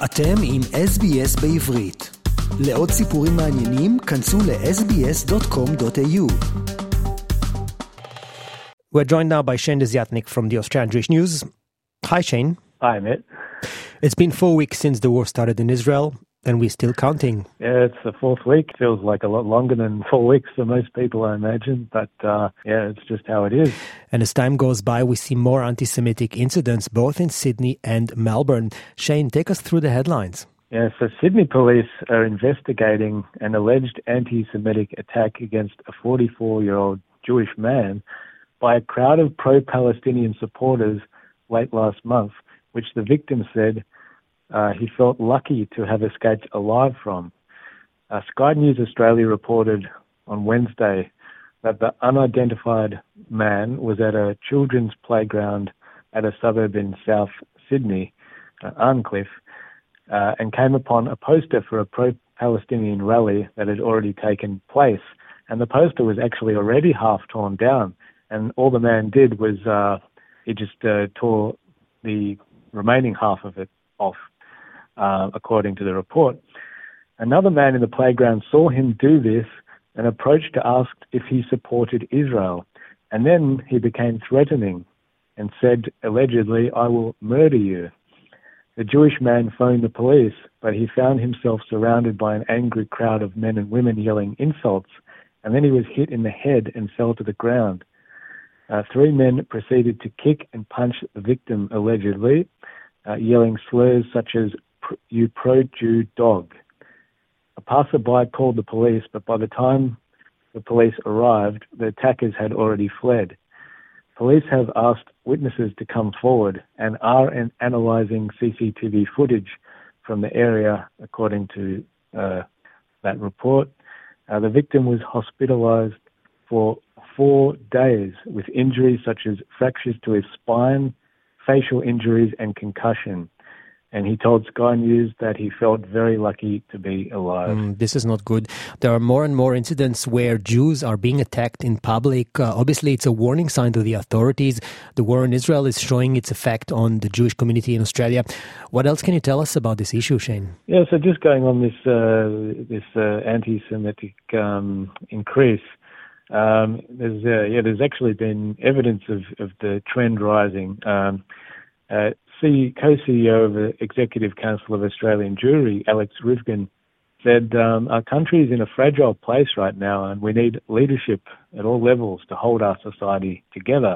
אתם עם SBS בעברית. לעוד סיפורים מעניינים, כנסו ל-sbs.com.au. We're joined now by Shane Desiatnik from the Australian Jewish News. Hi, Shane. Hi, Matt. It's been 4 weeks since the war started in Israel, and we're still counting. Yeah, it's the fourth week. Feels like a lot longer than 4 weeks for most people, I imagine. But, it's just how it is. And as time goes by, we see more anti-Semitic incidents, both in Sydney and Melbourne. Shane, take us through the headlines. Yeah, so Sydney police are investigating an alleged anti-Semitic attack against a 44-year-old Jewish man by a crowd of pro-Palestinian supporters late last month, which the victim said he felt lucky to have escaped alive from. Sky News Australia reported on Wednesday that the unidentified man was at a children's playground at a suburb in South Sydney, Arncliffe, and came upon a poster for a pro-Palestinian rally that had already taken place. And the poster was actually already half torn down. And all the man did was he just tore the remaining half of it off, according to the report. Another man in the playground saw him do this and approached to ask if he supported Israel. And then he became threatening and said, allegedly, "I will murder you." The Jewish man phoned the police, but he found himself surrounded by an angry crowd of men and women yelling insults, and then he was hit in the head and fell to the ground. 3 men proceeded to kick and punch the victim, allegedly, yelling slurs such as, "You pro-Jew dog." A passerby called the police, but by the time the police arrived, the attackers had already fled. Police have asked witnesses to come forward and are analysing CCTV footage from the area, according to that report. The victim was hospitalised for 4 days with injuries such as fractures to his spine, facial injuries and concussion. And he told Sky News that he felt very lucky to be alive. This is not good. There are more and more incidents where Jews are being attacked in public. Obviously, it's a warning sign to the authorities. The war in Israel is showing its effect on the Jewish community in Australia. What else can you tell us about this issue, Shane? Yeah, so just going on this anti-Semitic increase, there's actually been evidence of the trend rising. Co-CEO of the Executive Council of Australian Jewry, Alex Rivkin, said, our country is in a fragile place right now and we need leadership at all levels to hold our society together.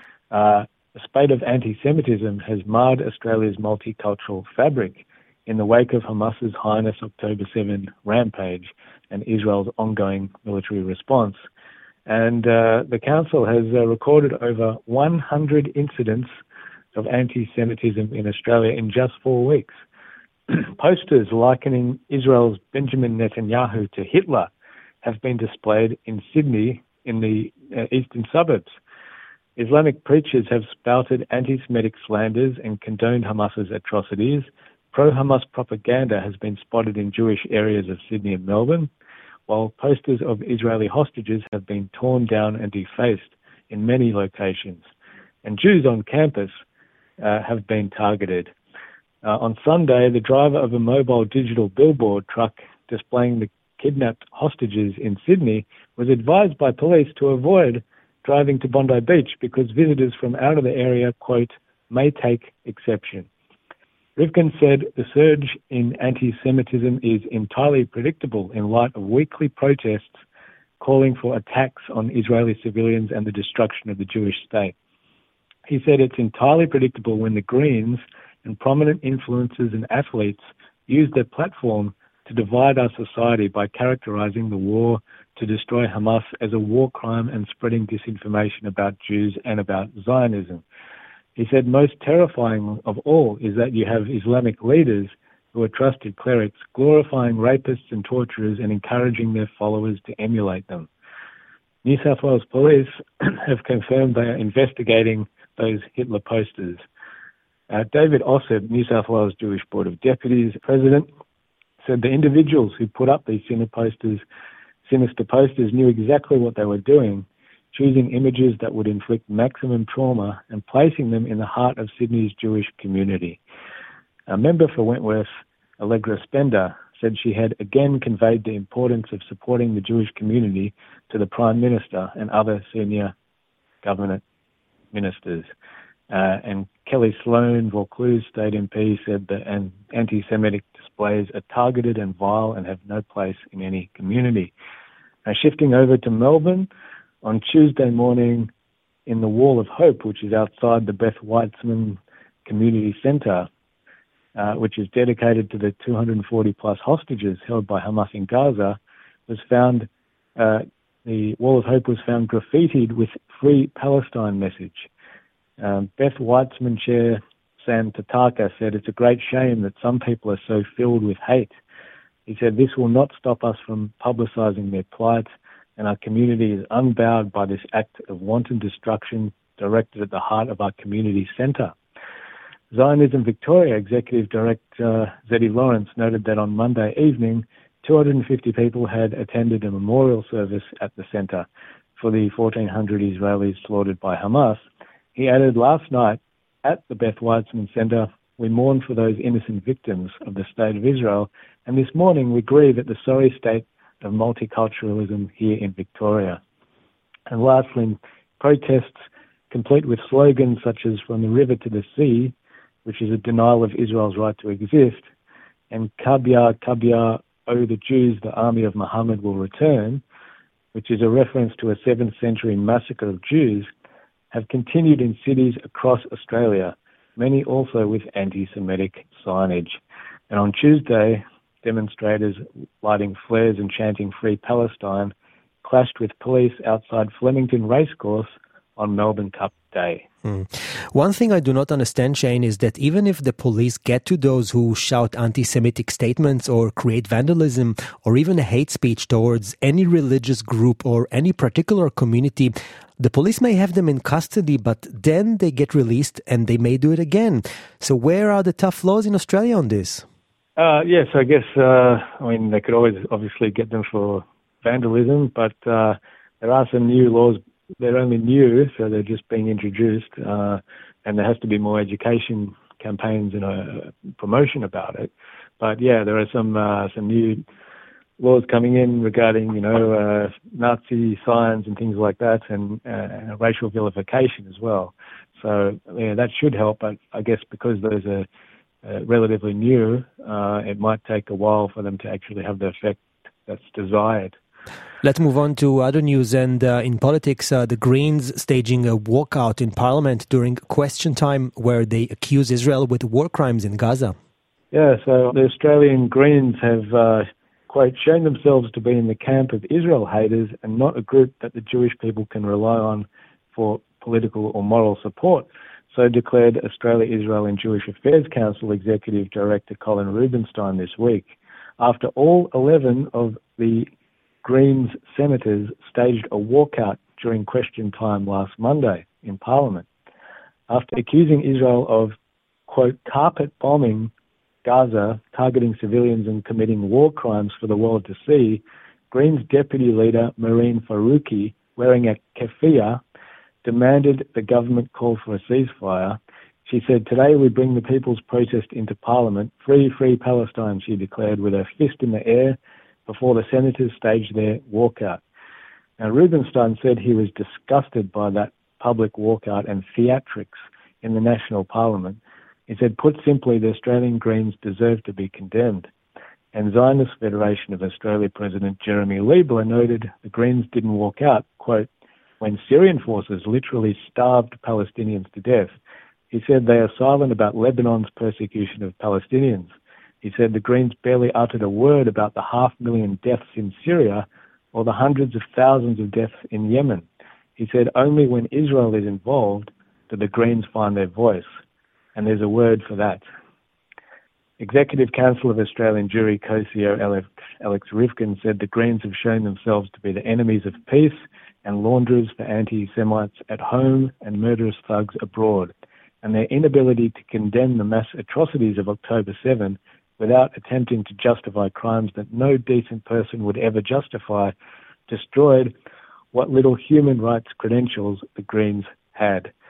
The spate of anti-Semitism has marred Australia's multicultural fabric in the wake of Hamas's heinous October 7 rampage and Israel's ongoing military response. And the council has recorded over 100 incidents of anti-Semitism in Australia in just 4 weeks. Posters likening Israel's Benjamin Netanyahu to Hitler have been displayed in Sydney in the eastern suburbs. Islamic preachers have spouted anti-Semitic slanders and condoned Hamas's atrocities. Pro-Hamas propaganda has been spotted in Jewish areas of Sydney and Melbourne, while posters of Israeli hostages have been torn down and defaced in many locations. And Jews on campus have been targeted. On Sunday, the driver of a mobile digital billboard truck displaying the kidnapped hostages in Sydney was advised by police to avoid driving to Bondi Beach because visitors from out of the area, quote, may take exception. Rivkin said the surge in anti-Semitism is entirely predictable in light of weekly protests calling for attacks on Israeli civilians and the destruction of the Jewish state. He said it's entirely predictable when the Greens and prominent influencers and athletes use their platform to divide our society by characterizing the war to destroy Hamas as a war crime and spreading disinformation about Jews and about Zionism. He said most terrifying of all is that you have Islamic leaders who are trusted clerics glorifying rapists and torturers and encouraging their followers to emulate them. New South Wales police have confirmed they are investigating those Hitler posters. David Ossip, New South Wales Jewish Board of Deputies President, said the individuals who put up these sinister posters knew exactly what they were doing, choosing images that would inflict maximum trauma and placing them in the heart of Sydney's Jewish community. A member for Wentworth Allegra Spender, said she had again conveyed the importance of supporting the Jewish community to the Prime Minister and other senior government ministers. And Kelly Sloan, Vaucluse State MP, said that anti-Semitic displays are targeted and vile and have no place in any community. Now, shifting over to Melbourne, on Tuesday morning in the Wall of Hope, which is outside the Beth Weitzman Community Centre, which is dedicated to the 240-plus hostages held by Hamas in Gaza, was found, the Wall of Hope was found graffitied with Free Palestine message. Beth Weitzman Chair Sam Tataka said, "It's a great shame that some people are so filled with hate." He said, "This will not stop us from publicising their plight, and our community is unbowed by this act of wanton destruction directed at the heart of our community centre." Zionism Victoria Executive Director Zeddy Lawrence noted that on Monday evening, 250 people had attended a memorial service at the centre for the 1,400 Israelis slaughtered by Hamas. He added, "Last night at the Beth Weitzman Centre, we mourned for those innocent victims of the State of Israel, and this morning we grieve at the sorry state of multiculturalism here in Victoria." And lastly, protests complete with slogans such as "From the river to the sea," which is a denial of Israel's right to exist, and "Kabya, Kabya, O the Jews, the army of Muhammad will return," which is a reference to a 7th century massacre of Jews, have continued in cities across Australia, many also with anti-Semitic signage. And on Tuesday, demonstrators lighting flares and chanting "Free Palestine" clashed with police outside Flemington Racecourse on Melbourne Cup Day. One thing I do not understand, Shane, is that even if the police get to those who shout anti-Semitic statements or create vandalism or even hate speech towards any religious group or any particular community, the police may have them in custody, but then they get released and they may do it again. So where are the tough laws in Australia on this? Yes, I guess, they could always obviously get them for vandalism, but there are some new laws. They're only new, so they're just being introduced, and there has to be more education campaigns and promotion about it. But yeah, there are some new laws coming in regarding, Nazi signs and things like that, and racial vilification as well. So yeah, that should help, but I guess because those are relatively new, it might take a while for them to actually have the effect that's desired. Let's move on to other news. And in politics, the Greens staging a walkout in Parliament during question time where they accuse Israel with war crimes in Gaza. Yeah, so the Australian Greens have, quote, shown themselves to be in the camp of Israel haters and not a group that the Jewish people can rely on for political or moral support. So declared Australia, Israel and Jewish Affairs Council Executive Director Colin Rubenstein this week, after all 11 of the Greens senators staged a walkout during question time last Monday in Parliament. After accusing Israel of, quote, carpet bombing Gaza, targeting civilians and committing war crimes for the world to see, Greens Deputy Leader Mehreen Faruqi, wearing a keffiyeh, demanded the government call for a ceasefire. She said, "Today we bring the people's protest into Parliament. Free, free Palestine," she declared with her fist in the air before the senators staged their walkout. Now, Rubenstein said he was disgusted by that public walkout and theatrics in the National Parliament. He said, put simply, the Australian Greens deserve to be condemned. And Zionist Federation of Australia President Jeremy Liebler noted the Greens didn't walk out, quote, when Syrian forces literally starved Palestinians to death. He said they are silent about Lebanon's persecution of Palestinians. He said the Greens barely uttered a word about the 500,000 deaths in Syria or the hundreds of thousands of deaths in Yemen. He said only when Israel is involved do the Greens find their voice. And there's a word for that. Executive Council of Australian Jewry co-CEO Alex Rivkin said the Greens have shown themselves to be the enemies of peace and launderers for anti-Semites at home and murderous thugs abroad. And their inability to condemn the mass atrocities of October 7 without attempting to justify crimes that no decent person would ever justify destroyed what little human rights credentials the Greens had.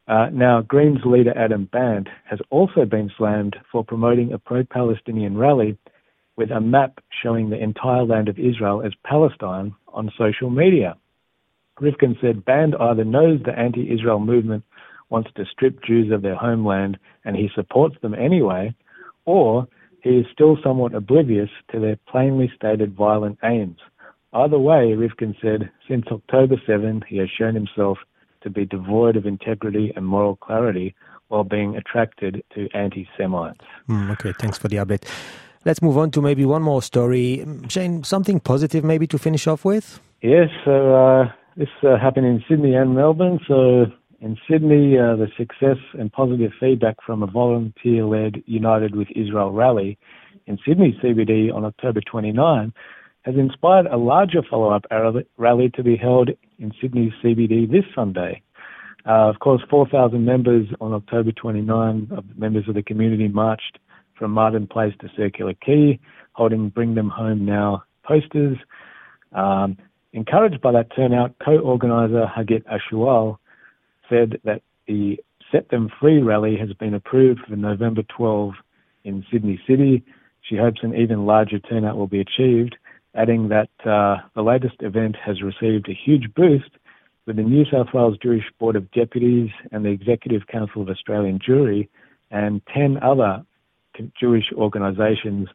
Now, Greens leader Adam Bandt has also been slammed for promoting a pro-Palestinian rally with a map showing the entire land of Israel as Palestine on social media. Rivkin said Bandt either knows the anti-Israel movement wants to strip Jews of their homeland and he supports them anyway, or he is still somewhat oblivious to their plainly stated violent aims. Either way, Rivkin said, since October 7, he has shown himself to be devoid of integrity and moral clarity while being attracted to anti-Semites. Okay, thanks for the update. Let's move on to maybe one more story. Shane, something positive maybe to finish off with? Yes, so this happened in Sydney and Melbourne. So in Sydney, the success and positive feedback from a volunteer-led United with Israel rally in Sydney CBD on October 29 has inspired a larger follow-up rally to be held in Sydney CBD this Sunday. Of course, 4,000 members on October 29, members of the community marched from Martin Place to Circular Quay, holding Bring Them Home Now posters. Encouraged by that turnout, co-organiser Hagit Ashual said that the Set Them Free rally has been approved for November 12 in Sydney City. She hopes an even larger turnout will be achieved, adding that the latest event has received a huge boost with the New South Wales Jewish Board of Deputies and the Executive Council of Australian Jewry and 10 other Jewish organisations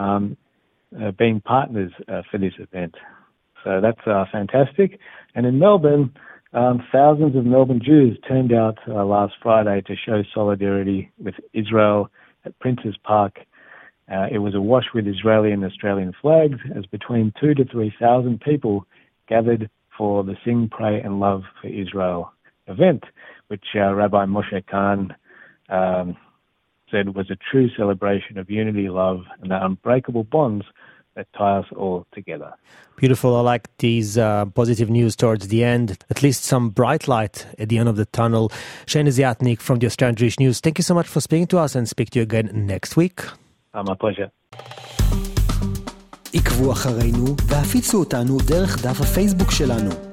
being partners for this event. So that's fantastic. And in Melbourne, thousands of Melbourne Jews turned out last Friday to show solidarity with Israel at Princes Park. It was awash with Israeli and Australian flags as between 2,000 to 3,000 people gathered for the Sing, Pray and Love for Israel event, which Rabbi Moshe Kahn said was a true celebration of unity, love and the unbreakable bonds that tie us all together. Beautiful. I like these positive news towards the end, at least some bright light at the end of the tunnel. Shane Ziatnik from the Australian Jewish News, thank you so much for speaking to us and speak to you again next week. My pleasure. עקבו אחרינו והפיצו אותנו דרך דף הפייסבוק שלנו.